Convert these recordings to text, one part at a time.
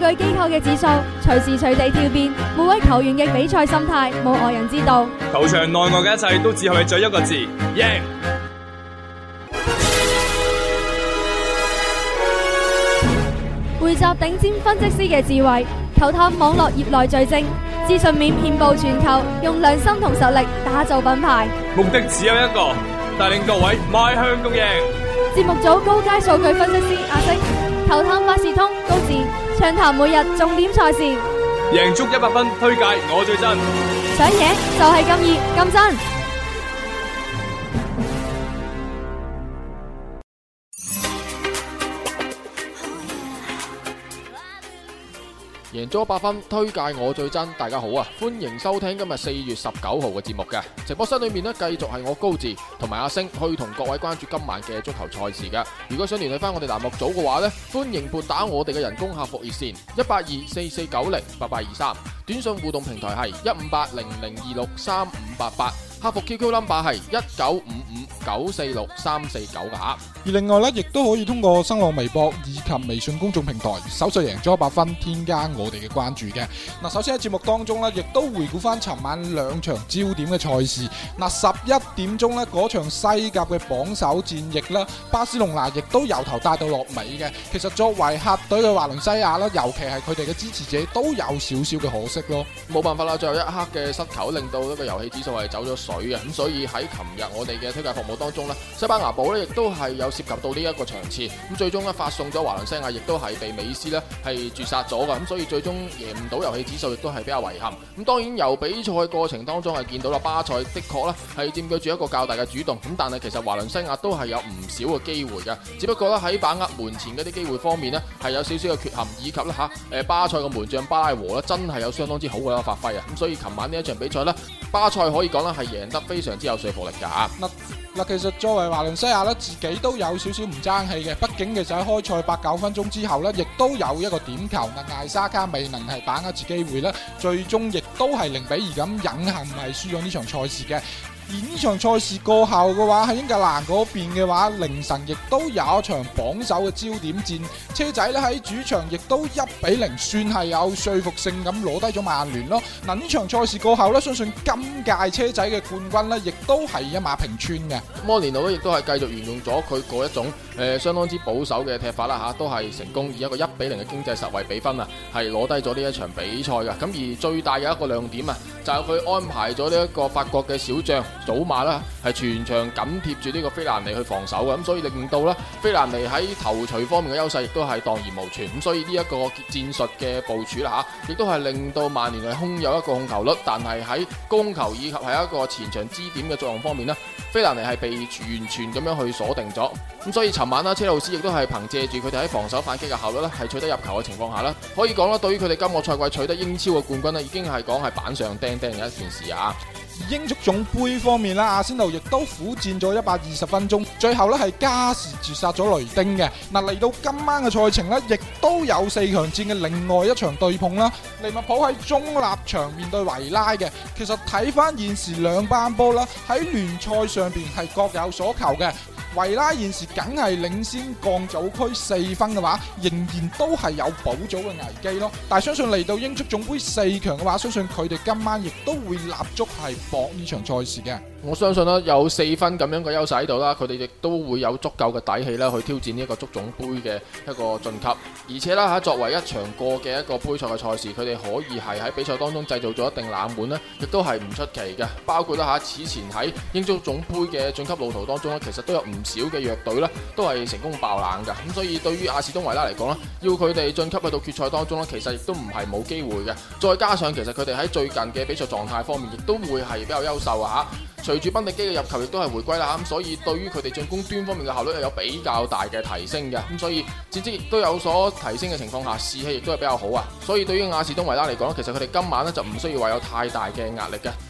據機構嘅指數，隨時隨地跳變，每位球員嘅比賽心態冇外人知道。 球場內外嘅一切都只係為咗一個字：贏。 匯集頂尖分析師嘅智慧，球探網絡業內最精，資訊面遍佈全球，用良心同實力打造品牌。 目的只有一個，帶領各位邁向共贏。 節目組高階數據分析師阿星，球探百事通高智，暢談每日重點賽事， 贏足100分，推介我最真， 想贏就係咁易咁真。 贏足100分，推介我最真。大家好啊，歡迎收聽今日4月19號嘅節目嘅直播室裏面呢，繼續係我高志同埋阿星去同各位關注今晚嘅足球賽事嘅。如果想聯繫翻我哋欄目組嘅話呢，歡迎撥打我哋嘅人工客服熱線18244908823，短信互動平台係15800263588，客服 QQ number 係1955946349噶。 而另外咧，亦都可以通過新浪微博以及微信公眾平台搜索贏足100分，添加我哋嘅關注嘅。嗱，首先喺節目當中咧，亦都回顧翻尋晚兩場焦點嘅賽事。嗱，11點鐘咧嗰場西甲嘅榜首戰役啦，巴塞隆拿亦都由頭帶到落尾嘅。其實作為客隊嘅華倫西亞啦，尤其係佢哋嘅支持者都有少少嘅可惜咯。 冇辦法啦，最後一刻嘅失球令到呢個遊戲指數係走咗水嘅，咁所以喺琴日我哋嘅推介服務當中咧，西班牙寶咧亦都係有涉及到呢一個場次，咁最終咧發送咗華倫西亞，亦都係被美斯咧係絕殺咗嘅，咁所以最終贏唔到遊戲指數，亦都係比較遺憾。咁當然由比賽過程當中係見到啦，巴塞的確咧係佔據住一個較大嘅主動，咁但係其實華倫西亞都係有唔少嘅機會嘅，只不過咧喺把握門前嗰啲機會方面咧係有少少嘅缺陷，以及咧巴塞嘅門將巴拉和咧真係有相當之好嘅發揮啊！咁所以琴晚呢一場比賽咧，巴塞可以講咧係贏得非常之有說服力㗎。 嗱，其實作為華倫西亞咧，自己都有少少唔爭氣嘅，畢竟其實喺開賽8-9分鐘之後咧，亦都有一個點球，艾沙卡未能係把握住機會咧，最終亦都係0-2咁隱幸係輸咗呢場賽事嘅。而呢場賽事過後嘅話，喺英格蘭嗰邊嘅話，凌晨亦都有一場榜首嘅焦點戰，車仔咧喺主場亦都1-0，算係有說服性咁攞低咗曼聯咯。嗱，呢場賽事過後咧，相信今屆車仔嘅冠軍咧，亦都係一馬平川嘅。 摩連奴咧亦都係繼續沿用咗佢嗰一種相當之保守嘅踢法啦嚇，都係成功以一個1-0嘅經濟實惠比分啊，係攞低咗呢一場比賽嘅。咁而最大嘅一個亮點啊，就係佢安排咗呢一個法國嘅小將祖馬啦，係全場緊貼住呢個菲蘭尼去防守嘅，咁所以令到咧菲蘭尼喺頭槌方面嘅優勢亦都係蕩然無存，咁所以呢一個戰術嘅部署啦嚇，亦都係令到曼聯係空有一個控球率，但係喺攻球以及係一個前場支點嘅作用方面呢，菲蘭尼係被完全咁樣去鎖定咗，咁所以尋晚啦，車路士亦都係憑借住佢哋喺防守反擊嘅效率咧，係取得入球嘅情況下咧，可以講啦，對於佢哋今個賽季取得英超嘅冠軍咧，已經係講係板上釘釘嘅一件事啊！ 英足總杯方面啦，阿仙奴亦都苦戰咗120分鐘，最後咧係加時絕殺咗雷丁嘅。嗱，嚟到今晚嘅賽程咧，亦都有4強戰嘅另外一場對碰啦。利物浦喺中立場面對維拉嘅，其實睇翻現時兩班波啦，喺聯賽上邊係各有所求嘅。維拉現時梗係領先降組區4分嘅話，仍然都係有保組嘅危機咯。但係相信嚟到英足總杯4強嘅話，相信佢哋今晚亦都會立足係搏呢場賽事嘅。 我相信啦，有4分咁樣嘅優勢喺度啦，佢哋亦都會有足夠嘅底氣啦，去挑戰呢一個足總杯嘅一個晉級。而且啦，作為一場過嘅一個杯賽嘅賽事，佢哋可以係喺比賽當中製造咗一定冷門呢，亦都係唔出奇嘅。包括啦此前喺英足總杯嘅晉級路途當中呢，其實都有唔少嘅弱隊呢，都係成功爆冷嘅。咁所以對於阿士東維拉嚟講呢，要佢哋晉級去到決賽當中呢，其實亦都唔係冇機會嘅。再加上其實佢哋喺最近嘅比賽狀態方面，亦都會係比較優秀啊嚇。隨住賓迪基嘅入球亦都係回歸啦，咁所以對於佢哋進攻端方面嘅效率係有比較大嘅提升嘅，咁所以戰績亦都有所提升嘅情況下，士氣亦都係比較好啊。所以對於亞士東維拉嚟講，其實佢哋今晚呢就唔需要話有太大嘅壓力嘅。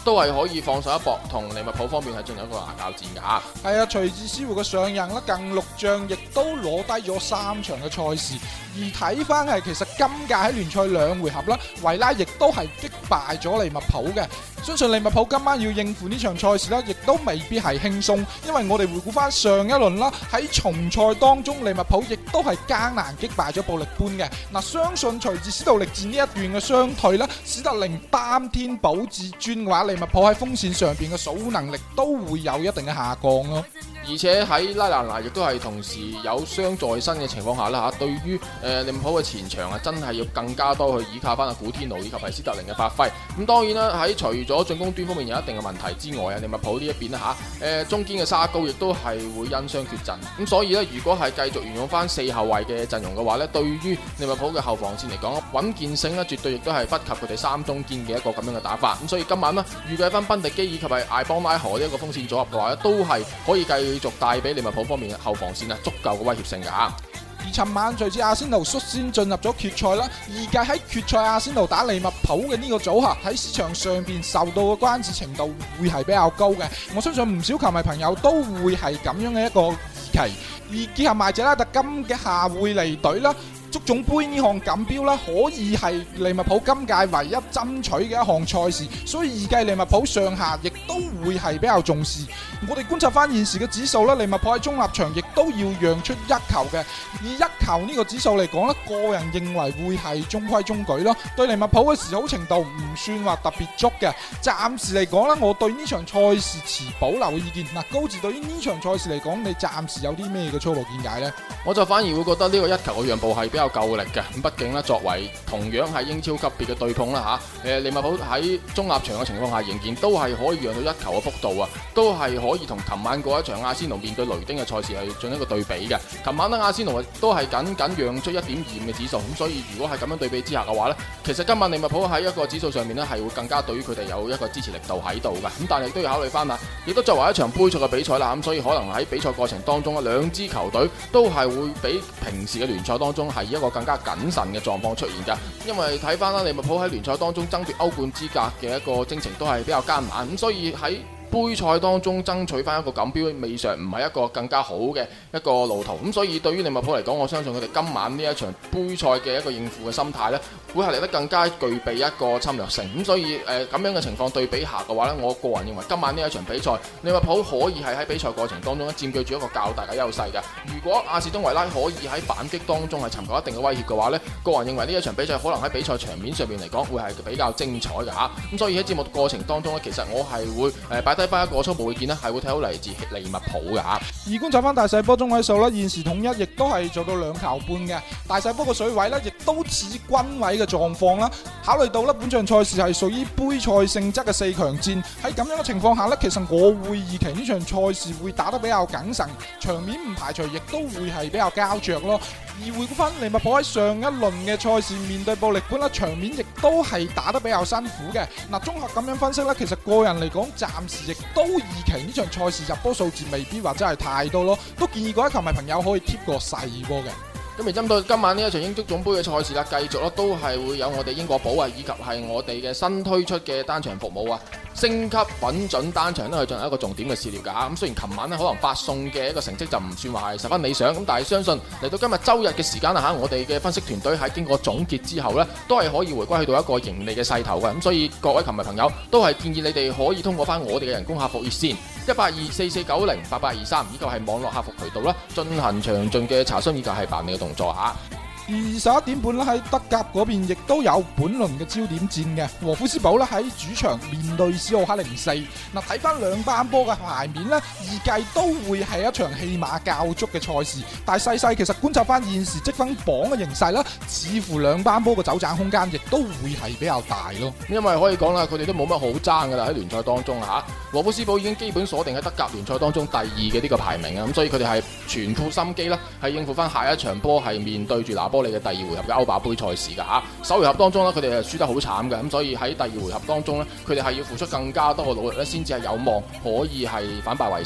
都係可以放手一搏，同利物浦方面係進行一個牙較戰㗎。 係啊，隨住師傅嘅上任啦，近6仗亦都攞低咗3場嘅賽事。而睇翻係其實今屆喺聯賽2回合啦，維拉亦都係擊敗咗利物浦嘅。相信利物浦今晚要應付呢場賽事啦，亦都未必係輕鬆，因為我哋回顧翻上一輪啦，喺重賽當中利物浦亦都係艱難擊敗咗布力般嘅。嗱，相信隨住史杜力戰呢一段嘅傷退啦，史特靈擔天保至尊嘅話，利物浦喺鋒線上邊嘅守護能力都會有一定嘅下降咯。 而且喺拉蘭拿亦都係同時有傷在身嘅情況下啦嚇，對於利物浦嘅前場啊，真係要更加多去依靠翻阿古天奴以及係斯特靈嘅發揮。咁當然啦，喺除咗進攻端方面有一定嘅問題之外啊，利物浦呢一邊啦嚇，中堅嘅沙高亦都係會因傷缺陣。咁所以呢，如果係繼續沿用翻4後衛嘅陣容嘅話呢，對於利物浦嘅後防線嚟講，穩健性呢絕對亦都係不及佢哋3中堅嘅一個咁樣嘅打法。咁所以今晚呢，預計翻賓迪基以及係艾邦拉荷呢一個鋒線組合嘅話呢，都係可以繼續帶俾利物浦方面嘅後防線足夠嘅威脅性㗎。 而尋晚隨住阿仙奴率先進入咗決賽啦，預計喺決賽阿仙奴打利物浦嘅呢個組合喺市場上邊受到嘅關注程度會係比較高嘅。我相信唔少球迷朋友都會係咁樣嘅一個預期。而結合埋謝拉特今嘅下會離隊啦，足總杯呢項錦標啦，可以係利物浦今屆唯一爭取嘅一項賽事，所以預計利物浦上下亦都會係比較重視。我哋觀察翻現時嘅指數啦，利物浦喺中立場亦都要讓出1球嘅，以1球呢個指數嚟講咧，個人認為會係中規中矩咯。對利物浦嘅示好程度唔算話特別足嘅，暫時嚟講咧，我對呢場賽事持保留嘅意見。嗱，高志對於呢場賽事嚟講，你暫時有啲咩嘅初步見解呢？ 我就反而會覺得呢個1球嘅讓步係比較夠力嘅。咁畢竟咧，作為同樣係英超級別嘅對碰啦嚇，利物浦喺中立場嘅情況下，仍然都係可以讓到1球嘅幅度啊，都係可以同琴晚嗰一場阿仙奴面對雷丁嘅賽事係進行一個對比嘅。琴晚咧，阿仙奴都係僅讓出1.25嘅指數，咁所以如果係咁樣對比之下嘅話呢，其實今晚利物浦喺一個指數上面呢，係會更加對於佢哋有一個支持力度喺度嘅。咁但係都要考慮翻啦，亦都作為一場杯賽嘅比賽啦，咁所以可能喺比賽過程當中兩支球隊都係會比平時嘅聯賽當中係一個更加謹慎嘅狀況出現㗎。因為睇翻啦，利物浦喺聯賽當中爭奪歐冠資格嘅一個征程都係比較艱難，咁所以喺杯賽當中爭取翻一個錦標，未嘗唔係一個更加好嘅一個路途。咁所以對於利物浦嚟講，我相信佢哋今晚呢一場杯賽嘅一個應付嘅心態呢，會係嚟得更加具備一個侵略性。咁所以咁樣嘅情況對比下嘅話呢，我個人認為今晚呢一場比賽，利物浦可以係喺比賽過程當中佔據住一個較大嘅優勢嘅。如果阿士東維拉可以喺反擊當中係尋求一定嘅威脅嘅話呢，個人認為呢一場比賽可能喺比賽場面上面嚟講會係比較精彩嘅嚇。咁所以喺節目過程當中呢，其實我係會擺低翻一個初步意見呢，係會睇好嚟自利物浦嘅嚇。 而觀察翻大細波中位數啦，現時統一亦都係做到2球半嘅，大細波嘅水位呢，亦都似均位嘅狀況啦。考慮到呢本場賽事係屬於杯賽性質嘅4強戰，喺咁樣嘅情況下呢，其實我會預期呢場賽事會打得比較謹慎，場面唔排除亦都會係比較膠着咯。而回顧翻利物浦喺上一輪嘅賽事面對布力般啦，場面亦都係打得比較辛苦嘅。嗱，綜合咁樣分析呢，其實個人嚟講，暫時亦都預期呢場賽事入波數字未必話真係太多咯，都建議各位球迷朋友可以貼個細波嘅。 咁而針對今晚呢一場英足總杯嘅賽事啦，繼續咯都係會有我哋英國寶啊，以及係我哋嘅新推出嘅單場服務啊，升級穩準單場都去進行一個重點嘅試料㗎。咁雖然琴晚呢可能發送嘅一個成績就唔算話係十分理想，咁但係相信嚟到今日周日嘅時間啦嚇，我哋嘅分析團隊喺經過總結之後呢，都係可以回歸去到一個盈利嘅勢頭嘅。咁所以各位球迷朋友都係建議你哋可以通過翻我哋嘅人工客服熱線18244908823，以及係網絡客服渠道啦，進行詳盡嘅查詢以及係辦理嘅動作嚇。 而11點半啦，喺德甲嗰邊亦都有本輪嘅焦點戰嘅，和夫斯堡啦喺主場面對史奧克04。嗱，睇翻兩班波嘅牌面呢，預計都會係一場戲碼較足嘅賽事。但係細其實觀察翻現時積分榜嘅形勢啦，似乎兩班波嘅走盞空間亦都會係比較大咯。 因為可以講啦，佢哋都冇乜好爭噶啦喺聯賽當中嚇。和夫斯堡已經基本鎖定喺德甲聯賽當中第2嘅呢個排名啊，咁所以佢哋係全副心機啦，係應付翻下一場波係面對住拿波利嘅第2回合嘅歐霸杯賽事㗎嚇。首回合當中呢，佢哋係輸得好慘嘅，咁所以喺第2回合當中呢，佢哋係要付出更加多嘅努力咧，先至係有望可以係反敗為勝。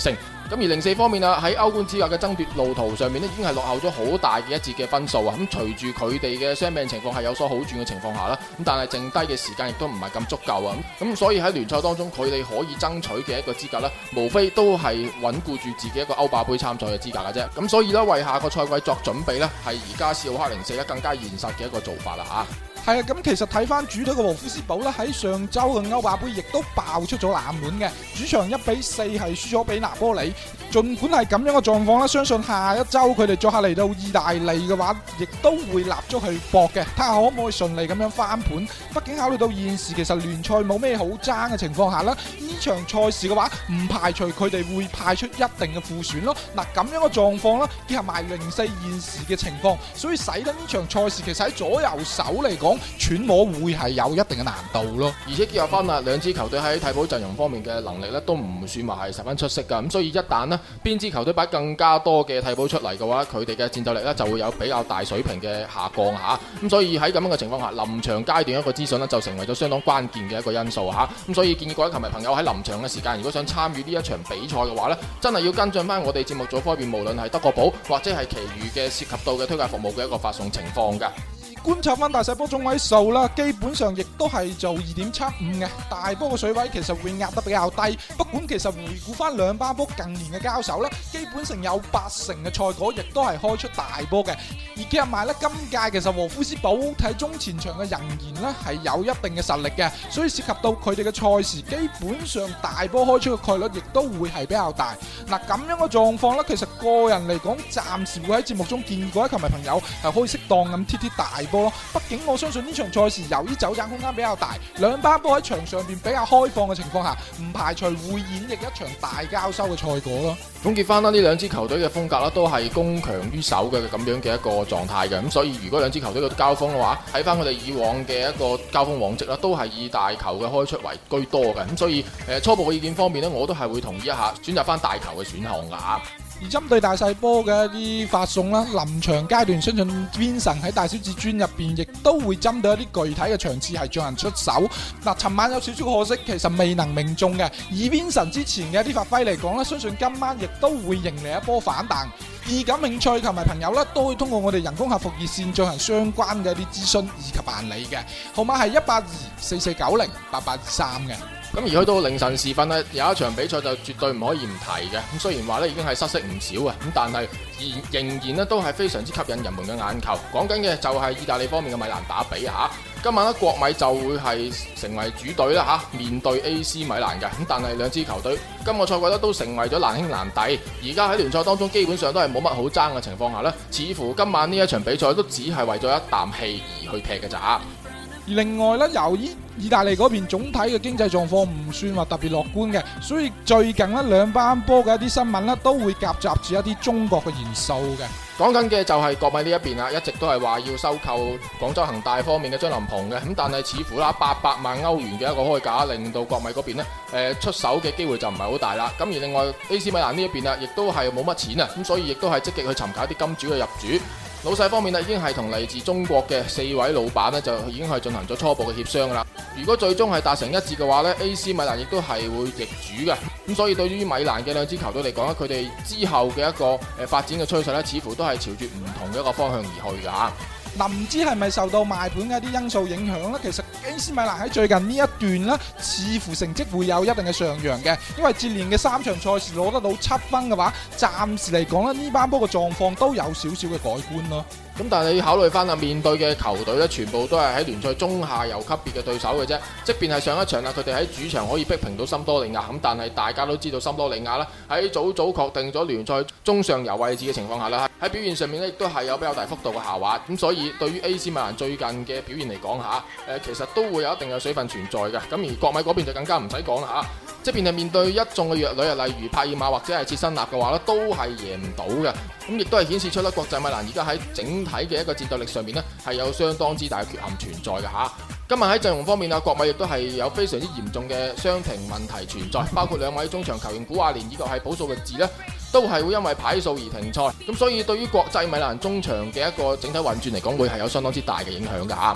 咁而04方面啊，喺歐冠資格嘅爭奪路途上面咧，已經係落後咗好大嘅一截嘅分數啊！咁隨住佢哋嘅傷病情況係有所好轉嘅情況下啦，咁但係剩低嘅時間亦都唔係咁足夠啊！咁所以喺聯賽當中，佢哋可以爭取嘅一個資格咧，無非都係穩固住自己一個歐霸杯參賽嘅資格嘅啫。咁所以咧，為下個賽季作準備咧，係而家史浩克04咧更加現實嘅一個做法啦嚇。 係啊，咁其實睇翻主隊嘅禾夫斯堡咧，喺上周嘅歐霸杯亦都爆出咗冷門嘅，主場1-4係輸咗俾拿波里。儘管係咁樣嘅狀況啦，相信下一周佢哋作客嚟到意大利嘅話，亦都會立足去搏嘅，睇下可唔可以順利咁樣翻盤。畢竟考慮到現時其實聯賽冇咩好爭嘅情況下啦，呢場賽事嘅話唔排除佢哋會派出一定嘅副選咯。嗱，咁樣嘅狀況啦，結合埋04現時嘅情況，所以使得呢場賽事其實喺左右手嚟講，揣摩會係有一定嘅難度咯。 而且結合翻啊，兩支球隊喺替補陣容方面嘅能力咧，都唔算話係十分出色噶。咁所以一旦呢邊支球隊擺更加多嘅替補出嚟嘅話，佢哋嘅戰鬥力咧就會有比較大水平嘅下降嚇。咁所以喺咁樣嘅情況下，臨場階段一個資訊呢，就成為咗相當關鍵嘅一個因素嚇。咁所以建議各位球迷朋友喺臨場嘅時間，如果想參與呢一場比賽嘅話呢，真係要跟進翻我哋節目組方面，無論係德國寶或者係其餘嘅涉及到嘅推介服務嘅一個發送情況㗎。 觀察翻大細波中位數啦，基本上亦都係做2.75嘅，大波嘅水位其實會壓得比較低。不管其實回顧翻兩班波近年嘅交手啦，基本上有80%嘅賽果亦都係開出大波嘅。而結合埋咧，今屆其實禾夫斯堡睇中前場嘅人員咧係有一定嘅實力嘅，所以涉及到佢哋嘅賽事，基本上大波開出嘅概率亦都會係比較大。嗱，咁樣嘅狀況咧，其實個人嚟講，暫時會喺節目中建議各位球迷朋友係可以適當咁貼大波咯。畢竟我相信呢場賽事由於走盞空間比較大，兩班波喺場上邊比較開放嘅情況下，唔排除會演繹一場大交收嘅賽果咯。 總結翻啦，呢兩支球隊嘅風格啦，都係攻強於守嘅咁樣嘅一個狀態嘅。咁所以如果兩支球隊嘅交鋒嘅話，睇翻佢哋以往嘅一個交鋒往績啦，都係以大球嘅開出為居多嘅。咁所以初步嘅意見方面呢，我都係會同意一下選擇翻大球嘅選項噶吓。 而針對大細波嘅一啲發送啦，臨場階段相信 Vincent 喺大小至尊入邊亦都會針對一啲具體嘅場次係進行出手。嗱，尋晚有少少可惜，其實未能命中嘅。以 Vincent 之前嘅一啲發揮嚟講咧，相信今晚亦都會迎嚟一波反彈。而感興趣球迷朋友咧，都可以通過我哋人工客服熱線進行相關嘅一啲諮詢以及辦理嘅，號碼係18244908823嘅。 咁而去到凌晨時分呢，有一場比賽就絕對唔可以唔提嘅。咁雖然話呢已經係失色唔少啊，咁但係仍然呢都係非常之吸引人們嘅眼球。講緊嘅就係意大利方面嘅米蘭打比嚇。今晚呢國米就會係成為主隊啦嚇，面對 AC 米蘭嘅。咁但係兩支球隊今個賽季呢都成為咗難兄難弟。而家喺聯賽當中基本上都係冇乜好爭嘅情況下呢，似乎今晚呢一場比賽都只係為咗一啖氣而去踢嘅咋。 而另外咧，由於意大利嗰邊總體嘅經濟狀況唔算話特別樂觀嘅，所以最近呢兩班波嘅一啲新聞呢都會夾雜住一啲中國嘅元素嘅。 講緊嘅就係國米呢一邊啦，一直都係話要收購廣州恒大方面嘅張琳芃嘅，咁但係似乎啦800萬歐元嘅一個開價，令到國米嗰邊呢出手嘅機會就唔係好大啦。咁而另外 AC 米蘭呢一邊啊，亦都係冇乜錢啊，咁所以亦都係積極去尋求一啲金主嘅入主。老細方面呢已經係同嚟自中國嘅4位老闆呢就已經係進行咗初步嘅協商啦。如果最終係達成一致嘅話呢 AC 米蘭亦都係會易主嘅。咁所以對於米蘭嘅兩支球隊嚟講呢，佢哋之後嘅一個發展嘅趨勢呢，似乎都係朝住唔同嘅一個方向而去㗎嚇。 唔知係咪受到賣盤嘅一啲因素影響呢？其實 AC 米蘭喺最近呢一段呢，似乎成績會有一定嘅上揚嘅，因為接連嘅3場賽事攞得到7分嘅話，暫時嚟講呢班波嘅狀況都有少少嘅改觀咯。 咁但係你要考慮翻啊，面對嘅球隊咧，全部都係喺聯賽中下游級別嘅對手嘅啫。即便係上一場啦，佢哋喺主場可以逼平到森多利亞，咁但係大家都知道森多利亞啦，喺早確定咗聯賽中上游位置嘅情況下啦，喺表現上面咧亦都係有比較大幅度嘅下滑。咁所以對於 AC 米蘭最近嘅表現嚟講嚇，其實都會有一定嘅水分存在嘅。咁而國米嗰邊就更加唔使講啦嚇。即便係面對一眾嘅弱旅啊，例如帕爾馬或者係切身納嘅話咧，都係贏唔到嘅。咁亦都係顯示出咧，國際米蘭而家喺整體嘅一個戰鬥力上面呢，係有相當之大嘅缺陷存在嘅嚇。今日喺陣容方面啊，國米亦都係有非常之嚴重嘅傷停問題存在，包括2位中場球員古亞連以及係保素嘅治呢，都係會因為牌數而停賽。咁所以對於國際米蘭中場嘅一個整體運轉嚟講，會係有相當之大嘅影響㗎嚇。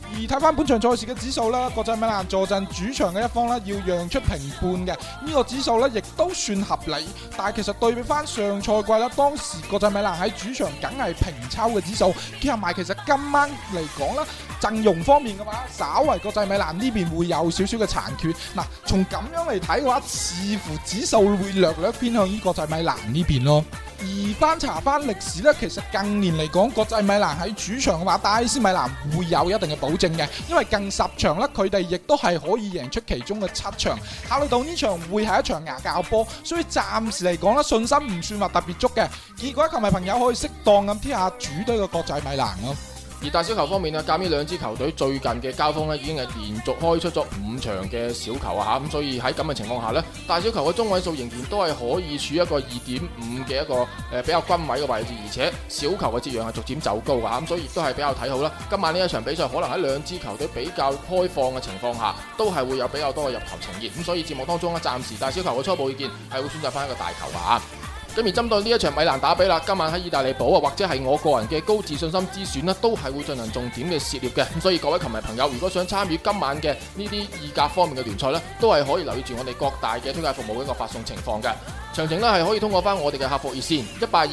而睇翻本場賽事嘅指數啦，國際米蘭坐鎮主場嘅一方咧，要讓出平半嘅呢個指數咧，亦都算合理。但係其實對比翻上賽季啦，當時國際米蘭喺主場梗係平抽嘅指數，結合埋其實今晚嚟講啦，陣容方面嘅話，稍為國際米蘭呢邊會有少少嘅殘缺。嗱，從咁樣嚟睇嘅話，似乎指數會略略偏向於國際米蘭呢邊咯。而翻查翻歷史咧，其實近年嚟講，國際米蘭喺主場嘅話，打 AC 米蘭會有一定嘅保證嘅，因為近10場咧，佢哋亦都係可以贏出其中嘅7場。考慮到呢場會係一場牙教波，所以暫時嚟講咧，信心唔算話特別足嘅。結果球迷朋友可以適當咁貼下主隊嘅國際米蘭咯。 而大小球方面呢，鑑於兩支球隊最近嘅交鋒呢，已經係連續開出咗5場嘅小球啊，咁所以喺咁嘅情況下呢，大小球嘅中位數仍然都係可以處一個2.5嘅一個比較均位嘅位置，而且小球嘅折讓係逐漸走高噶，咁所以亦都係比較睇好啦。今晚呢一場比賽可能喺兩支球隊比較開放嘅情況下，都係會有比較多嘅入球呈現，咁所以節目當中呢，暫時大小球嘅初步意見係會選擇翻一個大球啊。咁而針對呢一場米蘭打比啦，今晚喺意大利堡啊，或者係我個人嘅高自信心之選呢，都係會進行重點嘅涉獵嘅。咁所以各位球迷朋友，如果想參與今晚嘅呢啲意甲方面嘅聯賽呢，都係可以留意住我哋各大嘅推介服務嘅一個發送情況嘅。詳情呢係可以通過翻我哋嘅客服熱線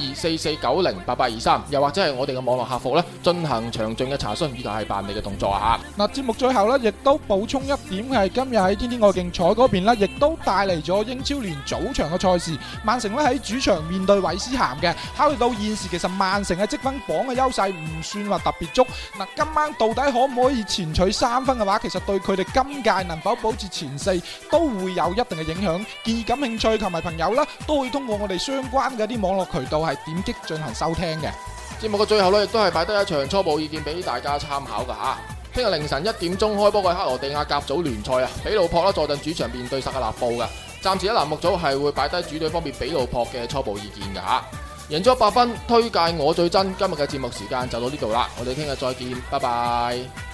18244908823，又或者係我哋嘅網絡客服呢進行詳盡嘅查詢以及係辦理嘅動作啊。 嗱，節目最後呢，亦都補充一點係今日喺天天愛競彩嗰邊呢，亦都帶嚟咗英超聯早場嘅賽事，曼城呢喺主場面對韋斯咸嘅。考慮到現時其實曼城嘅積分榜嘅優勢唔算話特別足，嗱，今晚到底可唔可以前取3分嘅話，其實對佢哋今屆能否保持前4都會有一定嘅影響。建議感興趣球迷朋友啦，都會通過我哋相關嘅啲網絡渠道係點擊進行收聽嘅。 節目嘅最後呢，亦都係擺低一場初步意見俾大家參考噶吓。聽日凌晨1點鐘開波嘅克羅地亞甲組聯賽啊，比魯珀啦坐鎮主場面對薩格勒布嘅。暫時喺欄目組係會擺低主隊方面比魯珀嘅初步意見噶吓。贏足100分，推介我最真。今日嘅節目時間就到呢度啦，我哋聽日再見，拜拜。